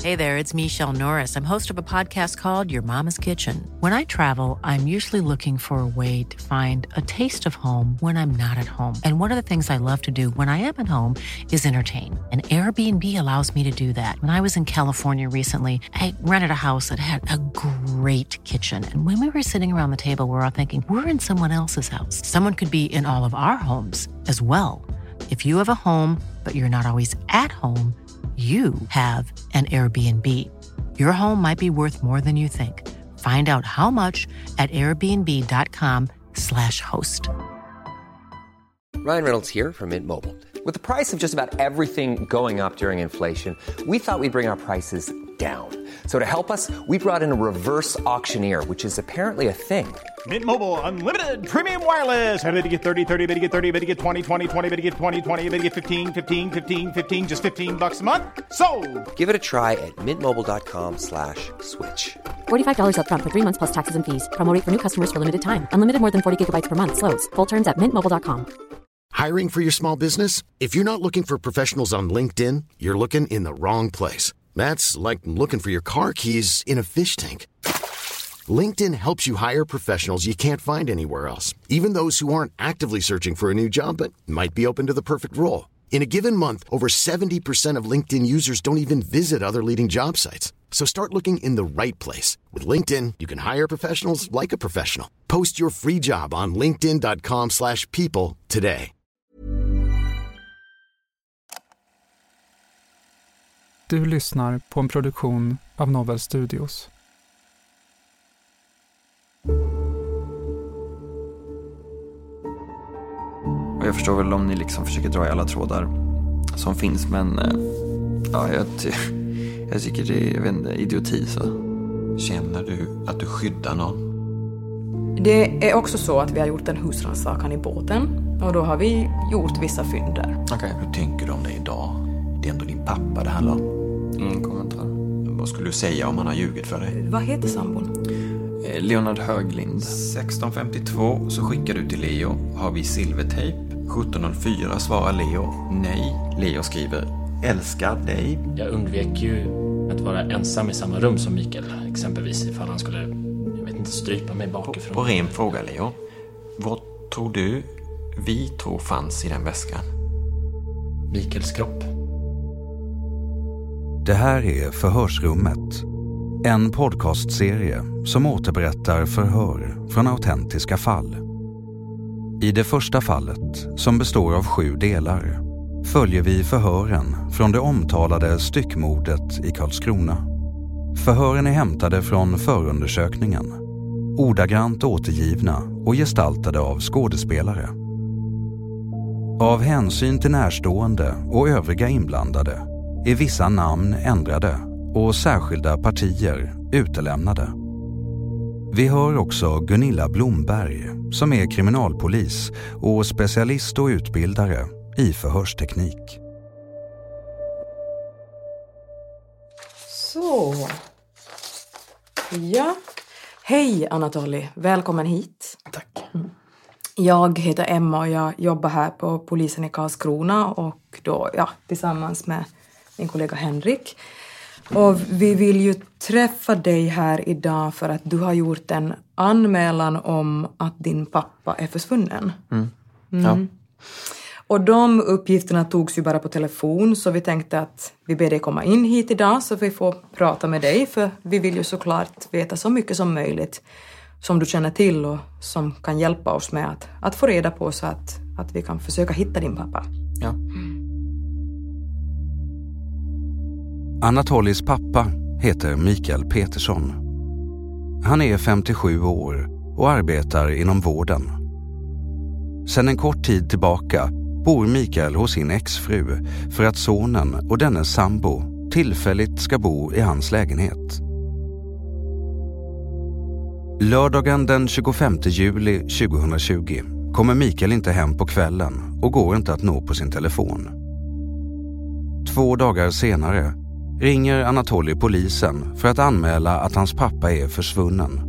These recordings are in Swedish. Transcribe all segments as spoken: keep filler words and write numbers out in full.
Hey there, it's Michelle Norris. I'm host of a podcast called Your Mama's Kitchen. When I travel, I'm usually looking for a way to find a taste of home when I'm not at home. And one of the things I love to do when I am at home is entertain. And Airbnb allows me to do that. When I was in California recently, I rented a house that had a great kitchen. And when we were sitting around the table, we were all thinking, we're in someone else's house. Someone could be in all of our homes as well. If you have a home, but you're not always at home, you have an Airbnb. Your home might be worth more than you think. Find out how much at airbnb.com slash host. Ryan Reynolds here from Mint Mobile. With the price of just about everything going up during inflation, we thought we'd bring our prices down. So to help us, we brought in a reverse auctioneer, which is apparently a thing. Mint Mobile Unlimited Premium Wireless. How to get thirty, thirty, how to get thirty, how to get twenty, twenty, twenty, how to get twenty, twenty, how to get fifteen, fifteen, fifteen, fifteen, just fifteen bucks a month? Sold! Give it a try at mintmobile.com slash switch. forty-five dollars up front for three months plus taxes and fees. Promo rate for new customers for limited time. Unlimited more than forty gigabytes per month. Slows full terms at mint mobile dot com. Hiring for your small business? If you're not looking for professionals on LinkedIn, you're looking in the wrong place. That's like looking for your car keys in a fish tank. LinkedIn helps you hire professionals you can't find anywhere else, even those who aren't actively searching for a new job but might be open to the perfect role. In a given month, over seventy percent of LinkedIn users don't even visit other leading job sites. So start looking in the right place. With LinkedIn, you can hire professionals like a professional. Post your free job on linkedin.com slash people today. Du lyssnar på en produktion av Novel Studios. Och jag förstår väl om ni liksom försöker dra i alla trådar som finns, men ja, jag, ty- jag tycker det är, jag vet inte, idioti så. Känner du att du skyddar någon? Det är också så att vi har gjort en husrannsakan i båten och då har vi gjort vissa fynd där. Okej, okay. Hur tänker du om det idag? Det är ändå din pappa det handlar om. Ingen kommentar. Vad skulle du säga om han har ljugit för dig? Vad heter sambon? Leonard Höglind. sexton femtiotvå så skickar du till Leo. Har vi silvertejp? sjutton noll fyra svarar Leo. Nej. Leo skriver älskar dig. Jag undvek ju att vara ensam i samma rum som Mikael. Exempelvis ifall han skulle, jag vet inte, strypa mig bakifrån. På ren fråga Leo. Vad tror du vi tror fanns i den väskan? Mikaels kropp. Det här är Förhörsrummet. En podcastserie som återberättar förhör från autentiska fall. I det första fallet, som består av sju delar, följer vi förhören från det omtalade styckmordet i Karlskrona. Förhören är hämtade från förundersökningen, ordagrant återgivna och gestaltade av skådespelare. Av hänsyn till närstående och övriga inblandade är vissa namn ändrade och särskilda partier utelämnade. Vi hör också Gunilla Blomberg som är kriminalpolis och specialist och utbildare i förhörsteknik. Så. Ja. Hej Anatoly, välkommen hit. Tack. Mm. Jag heter Emma och jag jobbar här på polisen i Karlskrona och då, ja, tillsammans med min kollega Henrik. Och vi vill ju träffa dig här idag för att du har gjort en anmälan om att din pappa är försvunnen. Mm. Mm. Ja. Och de uppgifterna togs ju bara på telefon, så vi tänkte att vi ber dig komma in hit idag så vi får prata med dig, för vi vill ju såklart veta så mycket som möjligt som du känner till och som kan hjälpa oss med att, att få reda på så att, att vi kan försöka hitta din pappa. Ja. Anatolys pappa heter Mikael Petersson. Han är femtiosju år och arbetar inom vården. Sedan en kort tid tillbaka bor Mikael hos sin exfru för att sonen och dennes sambo tillfälligt ska bo i hans lägenhet. Lördagen den tjugofemte juli tjugohundratjugo kommer Mikael inte hem på kvällen och går inte att nå på sin telefon. Två dagar senare ringer Anatoly polisen för att anmäla att hans pappa är försvunnen.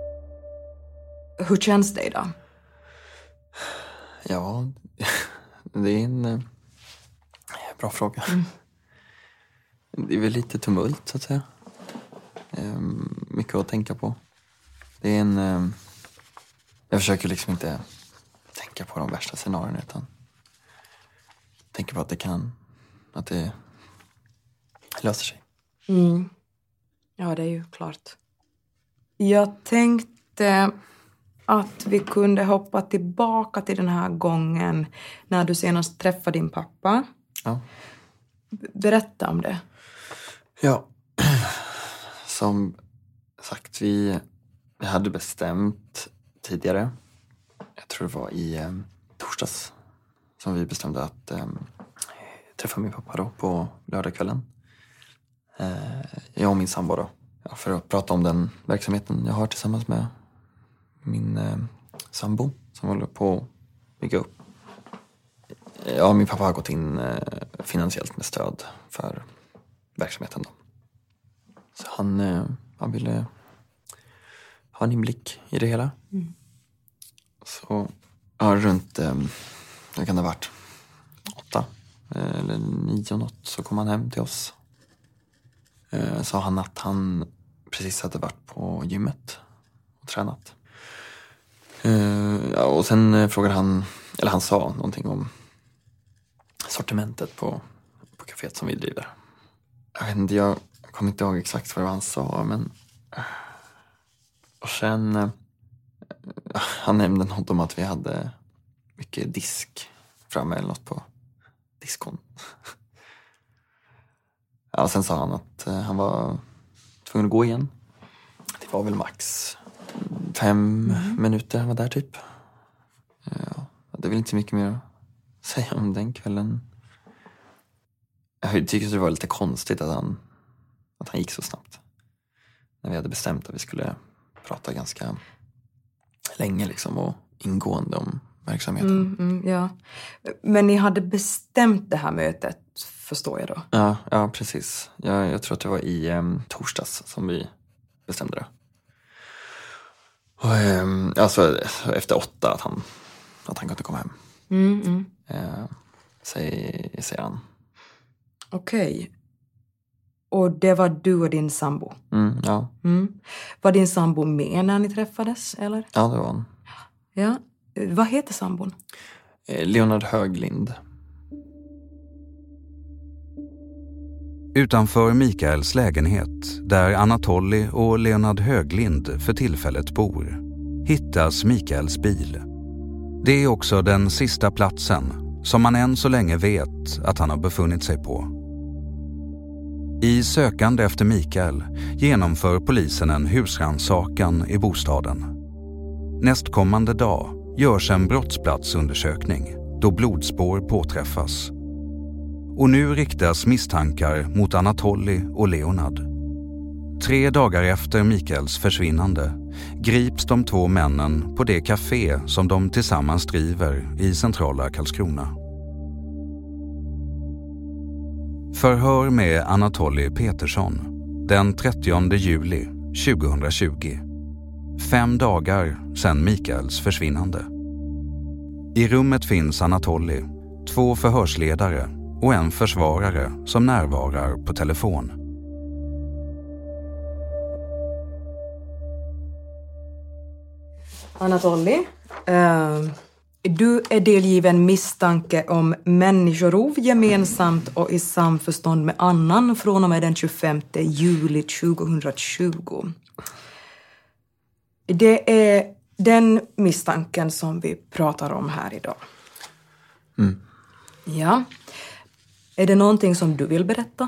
Hur känns det då? Ja, det är en eh, bra fråga. Mm. Det är väl lite tumult, så att säga. Eh, mycket att tänka på. Det är en... Eh, jag försöker liksom inte tänka på de värsta scenarierna, utan tänker på att det kan... Att det löser sig. Mm. Ja, det är ju klart. Jag tänkte att vi kunde hoppa tillbaka till den här gången när du senast träffade din pappa. Ja. Berätta om det. Ja, som sagt, vi, vi hade bestämt tidigare. Jag tror det var i eh, torsdags som vi bestämde att eh, träffa min pappa då på lördagskvällen. Eh, jag och min sambo då. Ja, för att prata om den verksamheten jag har tillsammans med min eh, sambo som håller på att bygga upp. Ja, min pappa har gått in eh, finansiellt med stöd för verksamheten då. Så han, eh, han ville ha en inblick i det hela. Mm. Så ja, runt, eh, det kan det ha varit åtta eh, eller nio något, så kom han hem till oss. Eh, sa han att han precis hade varit på gymmet och tränat. Eh, ja, och sen eh, frågade han, eller han sa någonting om sortimentet på, på kaféet som vi driver. Jag vet inte, jag kommer inte ihåg exakt vad han sa, men... Och sen... Eh, han nämnde något om att vi hade mycket disk framme eller något på diskon. Ja, och sen sa han att eh, han var tvungen att gå igen. Det var väl max fem mm. minuter han var där typ. Ja, det är väl inte så mycket mer att säga om den kvällen. Jag tycker det var lite konstigt att han, att han gick så snabbt. När vi hade bestämt att vi skulle prata ganska länge liksom och ingående om verksamheten. Mm, mm, ja. Men ni hade bestämt det här mötet, förstår jag då? Ja, ja precis. Jag, jag tror att det var i um, torsdags som vi bestämde det. Och, um, alltså efter åtta att han, att han kunde komma hem. Mm, mm. Uh, säger, säger han. Okej. Okay. Och det var du och din sambo? Mm, ja. Mm. Var din sambo med när ni träffades, eller? Ja, det var han. Ja. Vad heter sambon? Leonard Höglind. Utanför Mikaels lägenhet, där Anatoly och Leonard Höglind för tillfället bor, hittas Mikaels bil. Det är också den sista platsen som man än så länge vet att han har befunnit sig på. I sökande efter Mikael genomför polisen en husrannsakan i bostaden. Nästkommande dag görs en brottsplatsundersökning då blodspår påträffas. Och nu riktas misstankar mot Anatoly och Leonard. Tre dagar efter Mikaels försvinnande grips de två männen på det café som de tillsammans driver i centrala Karlskrona. Förhör med Anatoly Petersson den trettionde juli tjugohundratjugo. Fem dagar sedan Mikaels försvinnande. I rummet finns Anatoly, två förhörsledare och en försvarare som närvarar på telefon. Anatoly, uh, du är delgiven misstanke om människorov gemensamt och i samförstånd med annan från och med den tjugofemte juli tjugohundratjugo. Det är den misstanken som vi pratar om här idag. Mm. Ja. Är det någonting som du vill berätta?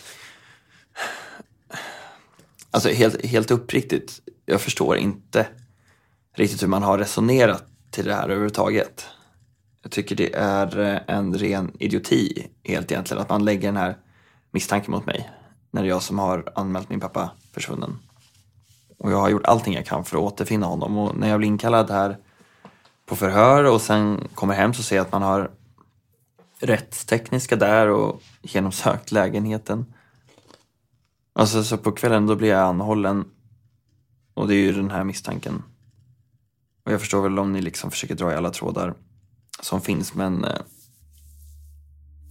Alltså helt, helt uppriktigt, jag förstår inte riktigt hur man har resonerat till det här överhuvudtaget. Jag tycker det är en ren idioti helt egentligen att man lägger den här misstanken mot mig när det är jag som har anmält min pappa försvunnen. Och jag har gjort allting jag kan för att återfinna honom. Och när jag blir inkallad här på förhör och sen kommer hem så ser jag att man har rättstekniska där och genomsökt lägenheten. Alltså så på kvällen då blir jag anhållen. Och det är ju den här misstanken. Och jag förstår väl om ni liksom försöker dra i alla trådar som finns. Men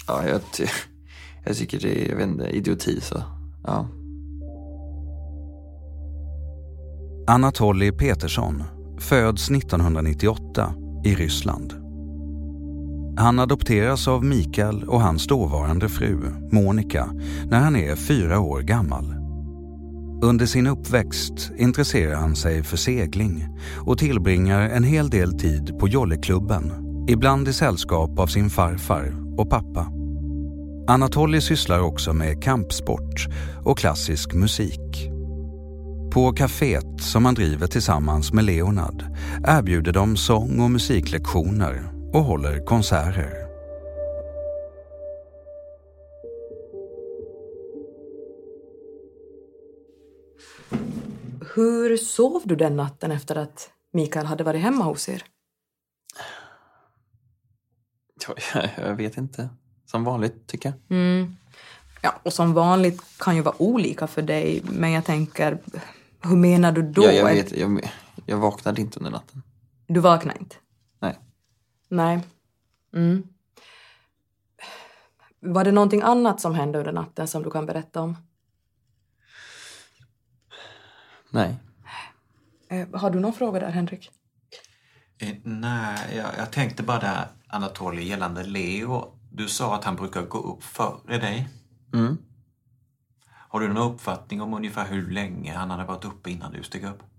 Ja, jag, ty- jag tycker det är, jag vet inte, idioti så. Ja. Anatolij Petersson föds nittonhundranittioåtta i Ryssland. Han adopteras av Mikael och hans dåvarande fru, Monica, när han är fyra år gammal. Under sin uppväxt intresserar han sig för segling och tillbringar en hel del tid på jolleklubben, ibland i sällskap av sin farfar och pappa. Anatolij sysslar också med kampsport och klassisk musik. På kaféet som han driver tillsammans med Leonard erbjuder de sång- och musiklektioner och håller konserter. Hur sov du den natten efter att Mikael hade varit hemma hos er? Ja, jag, jag vet inte. Som vanligt, tycker jag. Mm. Ja, och som vanligt kan ju vara olika för dig. Men jag tänker, hur menar du då? Ja, jag vet, jag, jag vaknade inte under natten. Du vaknade inte? Nej. Nej. Mm. Var det någonting annat som hände under natten som du kan berätta om? Nej. Eh, har du någon fråga där, Henrik? Eh, nej, jag, jag tänkte bara där, Anatolij, gällande Leo. Du sa att han brukar gå upp före dig. Mm. Har du någon uppfattning om ungefär hur länge han hade varit uppe innan du steg upp?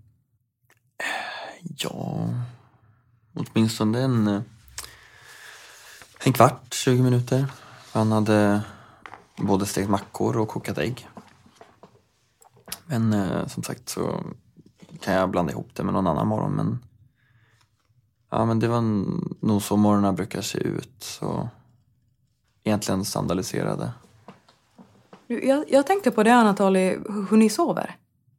Ja, åtminstone en, en kvart, tjugo minuter. Han hade både stekt mackor och kokat ägg. Men eh, som sagt så kan jag blanda ihop det med någon annan morgon. Men, ja, men det var nog så morgonerna brukar se ut. Så egentligen standardiserade. Jag, jag tänker på det, Anatolij, hur ni sover.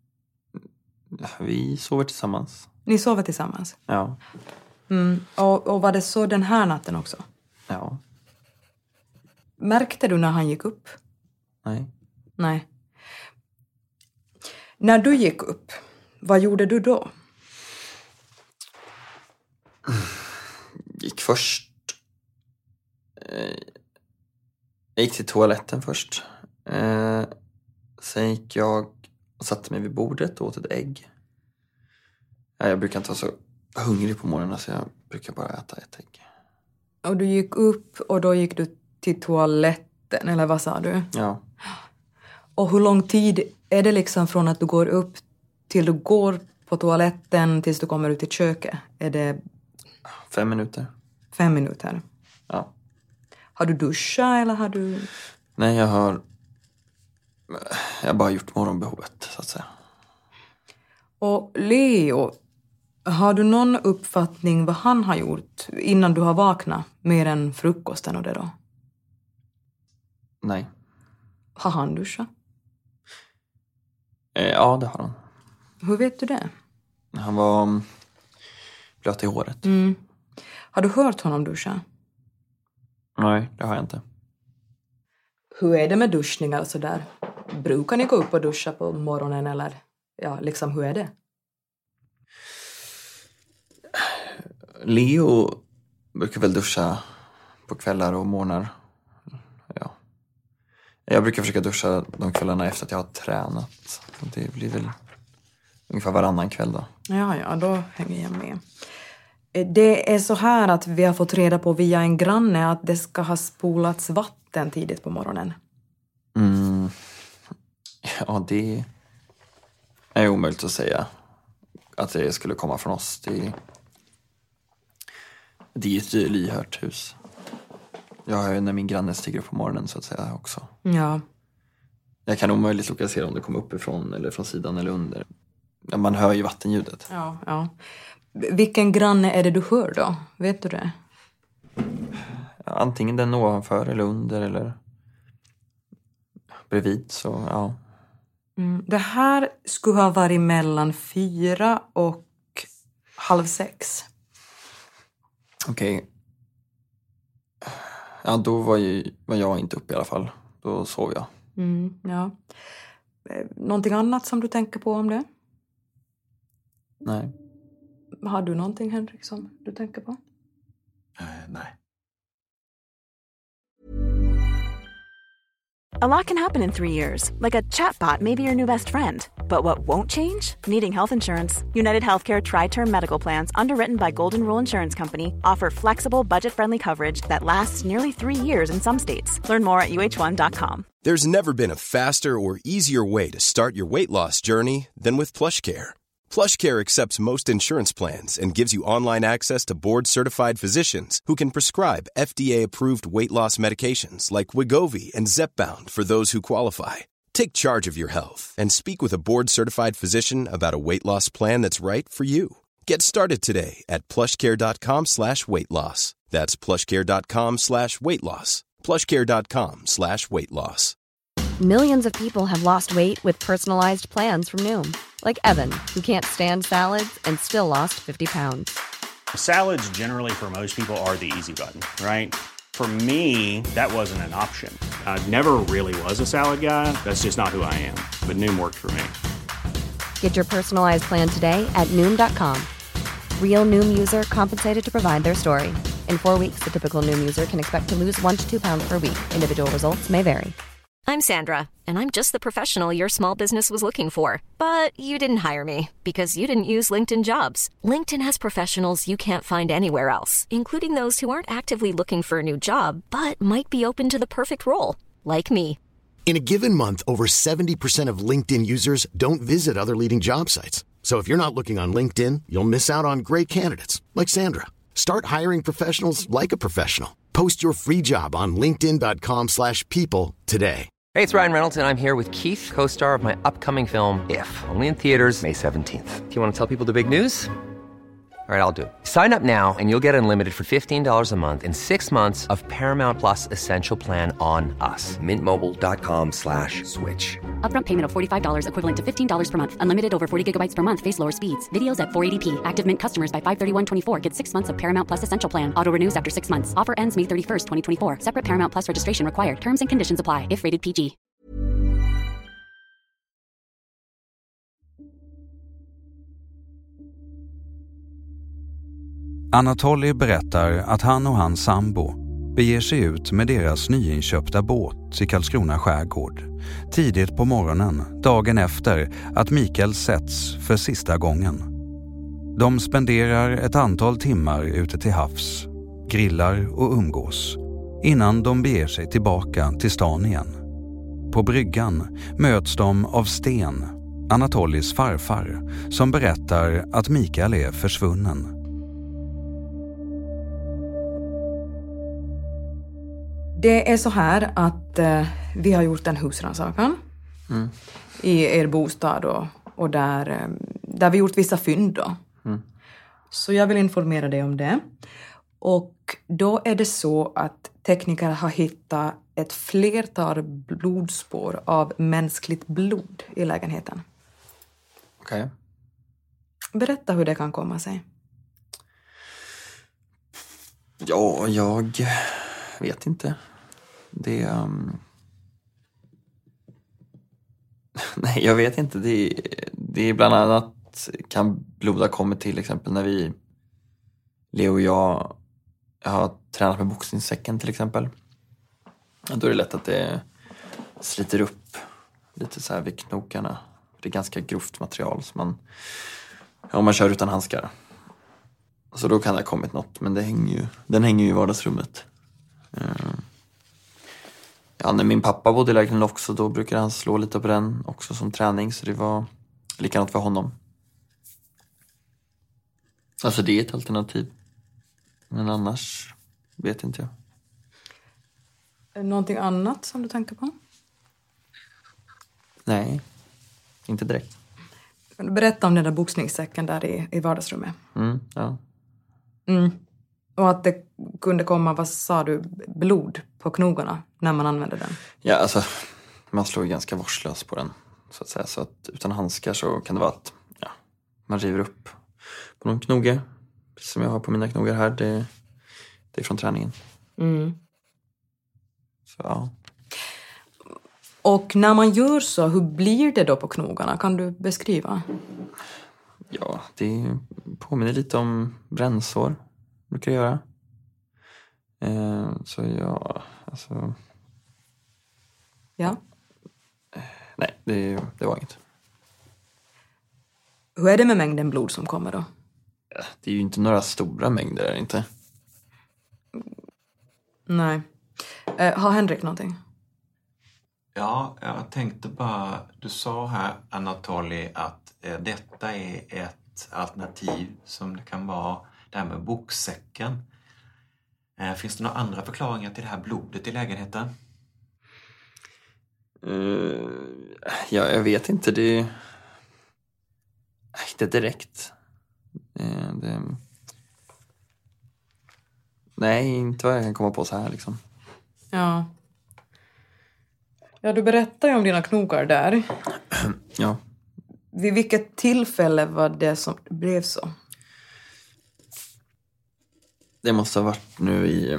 Vi sover tillsammans. Ni sover tillsammans? Ja. Mm. Och, och var det så den här natten också? Ja. Märkte du när han gick upp? Nej. Nej. När du gick upp, vad gjorde du då? Gick först. Eh, jag gick till toaletten först. Eh, sen gick jag och satte mig vid bordet och åt ett ägg. Ja, jag brukar inte vara så hungrig på morgonen så jag brukar bara äta ett ägg. Och du gick upp och då gick du till toaletten, eller vad sa du? Ja. Och hur lång tid är det liksom från att du går upp till du går på toaletten tills du kommer ut i köket? Är det... Fem minuter. Fem minuter? Ja. Har du duschat eller har du... Nej, jag har... Jag har bara gjort morgonbehovet, så att säga. Och Leo, har du någon uppfattning vad han har gjort innan du har vaknat? Mer än frukosten och det då? Nej. Har han duschat? Eh, ja, det har han. Hur vet du det? Han var blöt i håret. Mm. Har du hört honom duscha? Nej, det har jag inte. Hur är det med duschningar och sådär? Brukar ni gå upp och duscha på morgonen eller? Ja, liksom hur är det? Leo brukar väl duscha på kvällar och morgnar. Ja. Jag brukar försöka duscha de kvällarna efter att jag har tränat. Det blir väl ungefär varannan kväll då. Ja, ja, då hänger jag med. Det är så här att vi har fått reda på via en granne att det ska ha spolats vatten tidigt på morgonen. Mm. Ja, det är omöjligt att säga att det skulle komma från oss. Det, det är ett lyhört hus. Jag har ju när min granne stiger upp på morgonen så att säga också. Ja. Jag kan omöjligt lokalisera om det kommer uppifrån eller från sidan eller under. Man hör ju vattenljudet. Ja, ja. Vilken granne är det du hör då? Vet du det? Ja, antingen den ovanför eller under eller bredvid, så ja. Mm, det här skulle ha varit mellan fyra och halv sex. Okej. Okay. Ja, då var, ju, var jag inte uppe i alla fall. Då sov jag. Mm, ja. Någonting annat som du tänker på om det? Nej. Har du någonting, Henrik, som du tänker på? Uh, nej. A lot can happen in three years, like a chatbot may be your new best friend. But what won't change? Needing health insurance. United Healthcare Tri-Term Medical Plans, underwritten by Golden Rule Insurance Company, offer flexible, budget-friendly coverage that lasts nearly three years in some states. Learn more at U H one dot com. There's never been a faster or easier way to start your weight loss journey than with PlushCare. PlushCare accepts most insurance plans and gives you online access to board-certified physicians who can prescribe F D A-approved weight loss medications like Wegovy and Zepbound for those who qualify. Take charge of your health and speak with a board-certified physician about a weight loss plan that's right for you. Get started today at plushcare.com slash weight loss. That's plushcare.com slash weight loss. plushcare.com slash weight loss. Millions of people have lost weight with personalized plans from Noom. Like Evan, who can't stand salads and still lost fifty pounds. Salads generally for most people are the easy button, right? For me, that wasn't an option. I never really was a salad guy. That's just not who I am. But Noom worked for me. Get your personalized plan today at Noom dot com. Real Noom user compensated to provide their story. In four weeks, the typical Noom user can expect to lose one to two pounds per week. Individual results may vary. I'm Sandra, and I'm just the professional your small business was looking for. But you didn't hire me because you didn't use LinkedIn Jobs. LinkedIn has professionals you can't find anywhere else, including those who aren't actively looking for a new job, but might be open to the perfect role, like me. In a given month, over seventy percent of LinkedIn users don't visit other leading job sites. So if you're not looking on LinkedIn, you'll miss out on great candidates like Sandra. Start hiring professionals like a professional. Post your free job on linkedin dot com slash people today. Hey, it's Ryan Reynolds, and I'm here with Keith, co-star of my upcoming film, If, only in theaters May seventeenth. Do you want to tell people the big news? All right, I'll do it. Sign up now and you'll get unlimited for fifteen dollars a month and six months of Paramount Plus Essential Plan on us. Mint Mobile dot com slash switch. Upfront payment of forty-five dollars equivalent to fifteen dollars per month. Unlimited over forty gigabytes per month. Face lower speeds. Videos at four eighty p. Active Mint customers by five thirty-one twenty-four get six months of Paramount Plus Essential Plan. Auto renews after six months. Offer ends May thirty-first, twenty twenty-four. Separate Paramount Plus registration required. Terms and conditions apply if rated P G. Anatoly berättar att han och hans sambo beger sig ut med deras nyinköpta båt i Karlskrona skärgård tidigt på morgonen dagen efter att Mikael sätts för sista gången. De spenderar ett antal timmar ute till havs, grillar och umgås innan de beger sig tillbaka till stan igen. På bryggan möts de av Sten, Anatolys farfar, som berättar att Mikael är försvunnen. Det är så här att eh, vi har gjort en husrannsakan mm. i er bostad och, och där, eh, där vi gjort vissa fynd då. Mm. Så jag vill informera dig om det. Och då är det så att tekniker har hittat ett flertal blodspår av mänskligt blod i lägenheten. Okej. Okay. Berätta hur det kan komma sig. Ja, jag vet inte. Det um... Nej, jag vet inte. Det, det är bland annat kan blod ha kommit till exempel när vi Leo och jag, jag har tränat med boxningssäcken till exempel. Då är det lätt att det sliter upp lite så här vid knokarna. Det är ganska grovt material som man, ja, man kör utan handskar. Så då kan det ha kommit något, men det hänger ju, den hänger ju i vardagsrummet. Ja, när min pappa bodde i lägenheten också, då brukade han slå lite på den också som träning, så det var likadant för honom. Alltså det är ett alternativ. Men annars vet inte jag. Är det någonting annat som du tänker på? Nej, inte direkt. Kan du berätta om den där boxningssäcken där i, i vardagsrummet? Mm, ja. Mm. Och att det kunde komma, vad sa du, blod på knogarna när man använde den? Ja, alltså man slår ju ganska vårdslöst på den, så att säga. Så att utan handskar så kan det vara att ja, man river upp på någon knoge. Precis som jag har på mina knogar här, det, det är från träningen. Mm. Så ja. Och när man gör så, hur blir det då på knogarna? Kan du beskriva? Ja, det påminner lite om brännsår. Brukar jag göra. Eh, så ja, alltså... Ja. Nej, det, det var inget. Hur är det med mängden blod som kommer då? Det är ju inte några stora mängder, är det inte? Nej. Eh, har Henrik någonting? Ja, jag tänkte bara, du sa här, Anatoly, att eh, detta är ett alternativ som det kan vara det här med boksäcken. Eh, finns det några andra förklaringar till det här blodet i lägenheten? Uh, ja, jag vet inte. Det... Inte direkt. Det, det... Nej, inte vad jag kan komma på så här liksom. Ja. Ja, du berättade ju om dina knogar där. Ja. Vid vilket tillfälle var det som det blev så? Det måste ha varit nu i...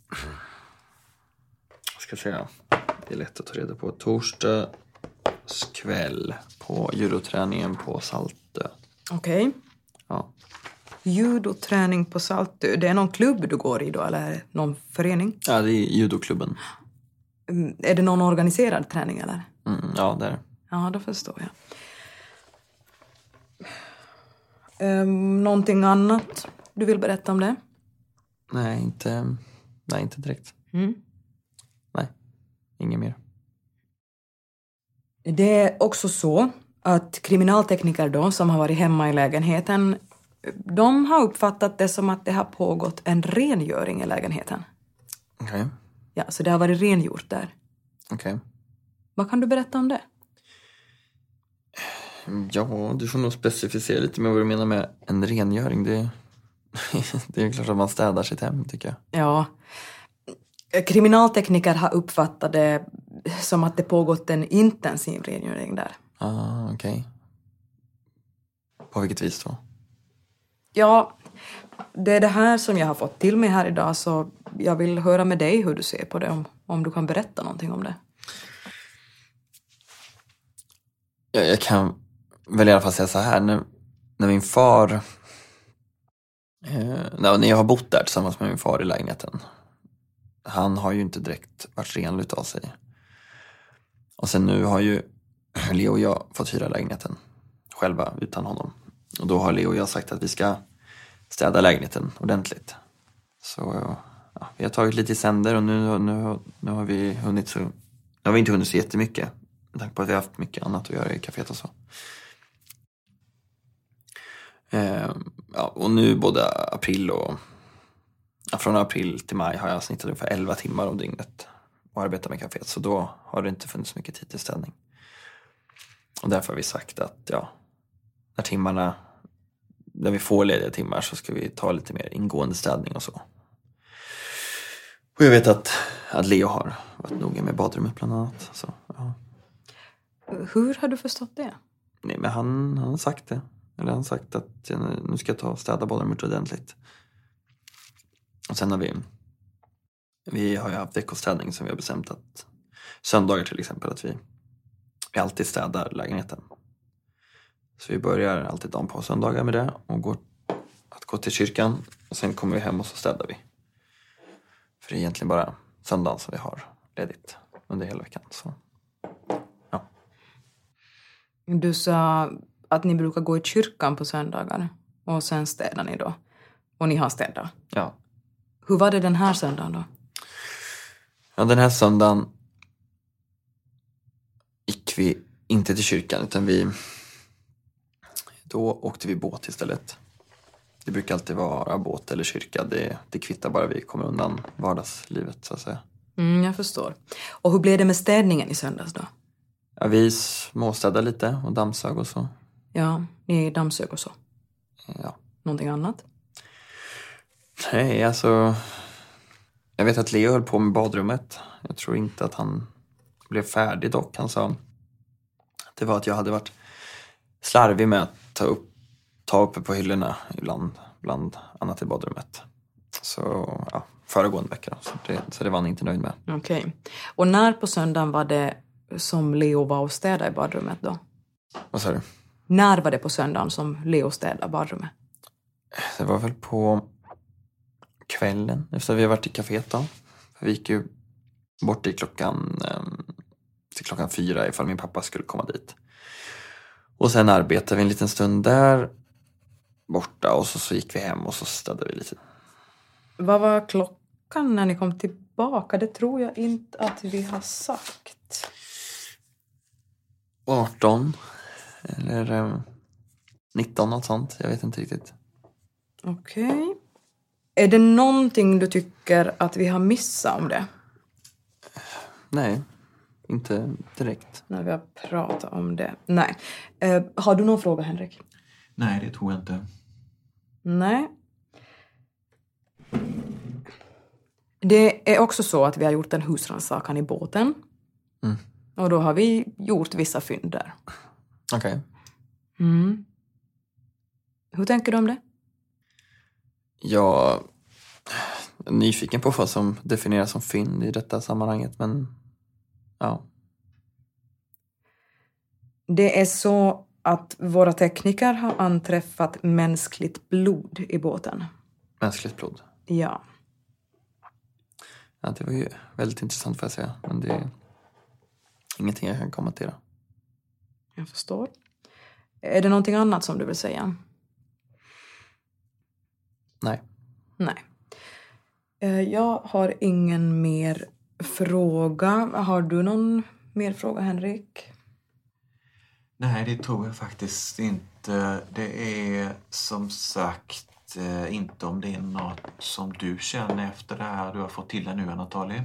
Vad ska jag säga? Det är lätt att ta reda på. Torsdags kväll på judoträningen på Saltö. Okej. Okay. Ja. Judoträning på Saltö. Det är någon klubb du går i då, eller någon förening? Ja, det är judoklubben. Mm, är det någon organiserad träning, eller? Mm, ja, det är det. Ja, då förstår jag. Um, någonting annat du vill berätta om det? Nej, inte, nej, inte direkt. Mm. Nej, inget mer. Det är också så att kriminaltekniker då, som har varit hemma i lägenheten, de har uppfattat det som att det har pågått en rengöring i lägenheten. Okej. Okay. Ja, så det har varit rengjort där. Okej. Okay. Vad kan du berätta om det? Ja, du får nog specificera lite med vad du menar med en rengöring. Det, det är klart att man städar sitt hem, tycker jag. Ja. Kriminaltekniker har uppfattat det som att det pågått en intensiv rengöring där. Ah, okej. Okay. På vilket vis då? Ja, det är det här som jag har fått till mig här idag, så jag vill höra med dig hur du ser på det, om, om du kan berätta någonting om det. Jag, jag kan väl i alla fall säga så här, när, när min far, eh, när jag har bott där tillsammans med min far i lägenheten, han har ju inte direkt varit renligt av sig. Och sen nu har ju Leo och jag fått hyra lägenheten själva utan honom. Och då har Leo och jag sagt att vi ska städa lägenheten ordentligt. Så ja, vi har tagit lite i sänder och nu, nu, nu har vi hunnit så... Nu har vi inte hunnit så jättemycket. Med tanke på att vi har haft mycket annat att göra i kaféet och så. Ehm, ja, och nu både april och... Ja, från april till maj har jag snittat ungefär elva timmar om dygnet och arbetat med kaféet. Så då har det inte funnits mycket tid till städning. Och därför har vi sagt att ja, när timmarna, när vi får lediga timmar så ska vi ta lite mer ingående städning och så. Och jag vet att, att Leo har varit noga med badrummet bland annat. Så, ja. Hur har du förstått det? Nej, men han, han har sagt det. Eller han har sagt att nu ska jag ta och städa badrummet ordentligt. Och sen har vi, vi har ju haft veckostädning som vi har bestämt att söndagar till exempel att vi, vi alltid städar lägenheten. Så vi börjar alltid dagen på söndagar med det och går att gå till kyrkan och sen kommer vi hem och så städar vi. För det är egentligen bara söndagen som vi har ledigt under hela veckan. Så, ja. Du sa att ni brukar gå i kyrkan på söndagar och sen städar ni då. Och ni har städat. Ja. Hur var det den här söndagen då? Ja, den här söndagen gick vi inte till kyrkan utan vi då åkte vi båt istället. Det brukar alltid vara båt eller kyrka. Det, det kvittar bara vi kommer undan vardagslivet så att säga. Mm, jag förstår. Och hur blev det med städningen i söndags då? Ja, vi småstädade lite och dammsög och så. Ja, ni dammsög och så. Ja. Någonting annat? Nej, alltså... Jag vet att Leo höll på med badrummet. Jag tror inte att han blev färdig dock. Han sa att det var att jag hade varit slarvig med att ta upp ta uppe på hyllorna ibland, bland annat i badrummet. Så ja, föregående vecka då. Så det, så det var han inte nöjd med. Okej. Okay. Och när på söndagen var det som Leo var och städade i badrummet då? Vad sa du? När var det på söndagen som Leo städade badrummet? Det var väl på kvällen efter att vi har varit i kaféet då. Vi gick ju bort i klockan eh, till klockan fyra ifall min pappa skulle komma dit. Och sen arbetade vi en liten stund där borta och så, så gick vi hem och så städade vi lite. Vad var klockan när ni kom tillbaka? Det tror jag inte att vi har sagt. arton eller eh, nitton, något sånt. Jag vet inte riktigt. Okej. Okay. Är det någonting du tycker att vi har missat om det? Nej, inte direkt. När vi har pratat om det. Nej. Eh, har du någon fråga, Henrik? Nej, det tror jag inte. Nej. Det är också så att vi har gjort en husrannsakan i båten. Mm. Och då har vi gjort vissa fynd där. Okej. Okay. Mm. Hur tänker du om det? Jag är nyfiken på vad som definieras som fynd i detta sammanhanget, men ja. Det är så att våra tekniker har anträffat mänskligt blod i båten. Mänskligt blod? Ja. Ja, det var ju väldigt intressant får jag säga, men det är ingenting jag kan kommentera. Jag förstår. Är det någonting annat som du vill säga? Nej. Nej. Jag har ingen mer fråga. Har du någon mer fråga, Henrik? Nej, det tror jag faktiskt inte. Det är som sagt inte om det är något som du känner efter det här du har fått till det nu, Anatoly.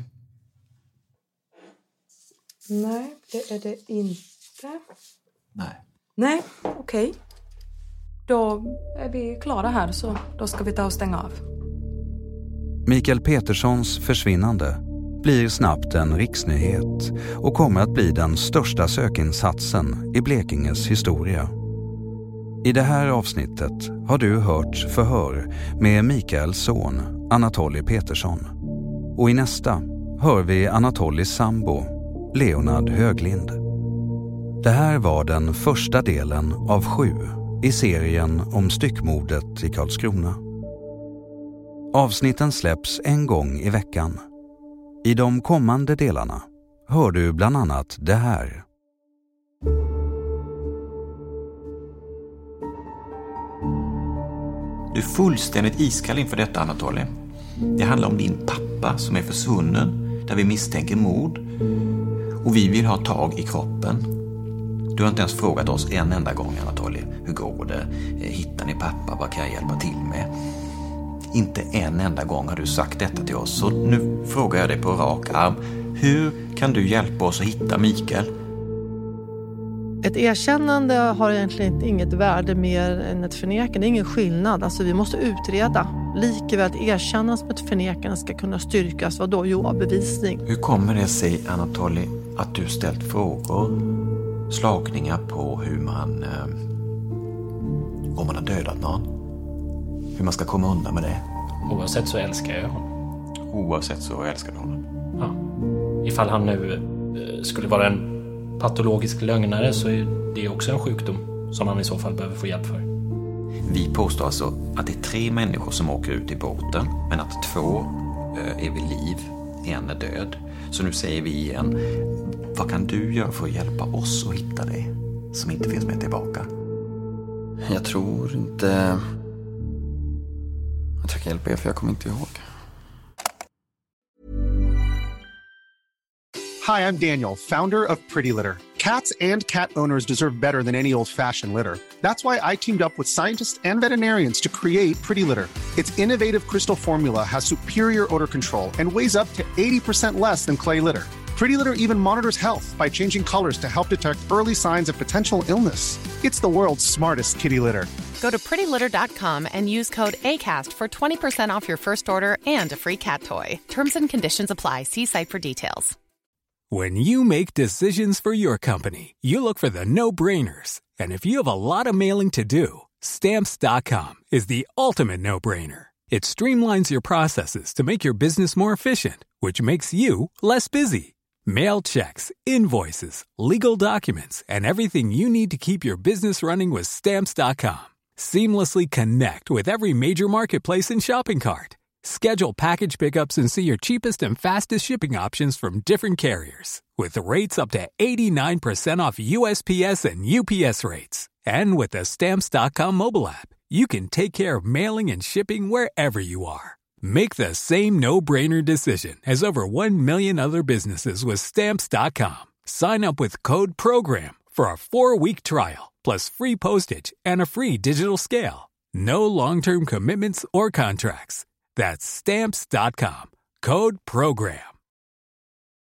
Nej, det är det inte. Nej. Nej, okej. Okay. Då är vi klara här, så då ska vi ta och stänga av. Mikael Peterssons försvinnande blir snabbt en riksnyhet och kommer att bli den största sökinsatsen i Blekinges historia. I det här avsnittet har du hört förhör med Mikaels son Anatoly Petersson. Och i nästa hör vi Anatolys sambo Leonard Höglind. Det här var den första delen av sju i serien om styckmordet i Karlskrona. Avsnitten släpps en gång i veckan. I de kommande delarna hör du bland annat det här. Du är fullständigt iskall inför detta, Anatoly. Det handlar om din pappa som är försvunnen, där vi misstänker mord. Och vi vill ha tag i kroppen. Du har inte ens frågat oss en enda gång, Anatoly. Hur går det? Hittar ni pappa? Vad kan jag hjälpa till med? Inte en enda gång har du sagt detta till oss. Så nu frågar jag dig på rak arm. Hur kan du hjälpa oss att hitta Mikael? Ett erkännande har egentligen inget värde mer än ett förnekande. Det är ingen skillnad. Alltså vi måste utreda. Likaväl att erkänna som ett förnekande ska kunna styrkas. Vad då? Jo, bevisning. Hur kommer det sig, Anatoly, att du ställt frågor, slagningar på hur man, eh, om man har dödat någon? Hur man ska komma undan med det? Oavsett så älskar jag honom. Oavsett så älskar du honom? Ja. Ifall han nu eh, skulle vara en patologisk lögnare så är det också en sjukdom som han i så fall behöver få hjälp för. Vi påstår alltså att det är tre människor som åker ut i båten, men att två eh, är vid liv, en är död. Så nu säger vi igen, vad kan du göra för att hjälpa oss att hitta det som inte finns med tillbaka? Jag tror inte att jag kan hjälpa er, för jag kommer inte ihåg. Hi, I'm Daniel, founder of Pretty Litter. Cats and cat owners deserve better than any old-fashioned litter. That's why I teamed up with scientists and veterinarians to create Pretty Litter. Its innovative crystal formula has superior odor control and weighs up to eighty percent less than clay litter. Pretty Litter even monitors health by changing colors to help detect early signs of potential illness. It's the world's smartest kitty litter. Go to pretty litter dot com and use code ACAST for twenty percent off your first order and a free cat toy. Terms and conditions apply. See site for details. When you make decisions for your company, you look for the no-brainers. And if you have a lot of mailing to do, stamps dot com is the ultimate no-brainer. It streamlines your processes to make your business more efficient, which makes you less busy. Mail checks, invoices, legal documents, and everything you need to keep your business running with stamps dot com. Seamlessly connect with every major marketplace and shopping cart. Schedule package pickups and see your cheapest and fastest shipping options from different carriers. With rates up to eighty-nine percent off U S P S and U P S rates. And with the Stamps dot com mobile app, you can take care of mailing and shipping wherever you are. Make the same no-brainer decision as over one million other businesses with Stamps dot com. Sign up with code PROGRAM for a four-week trial, plus free postage and a free digital scale. No long-term commitments or contracts. That's Stamps dot com. Code PROGRAM.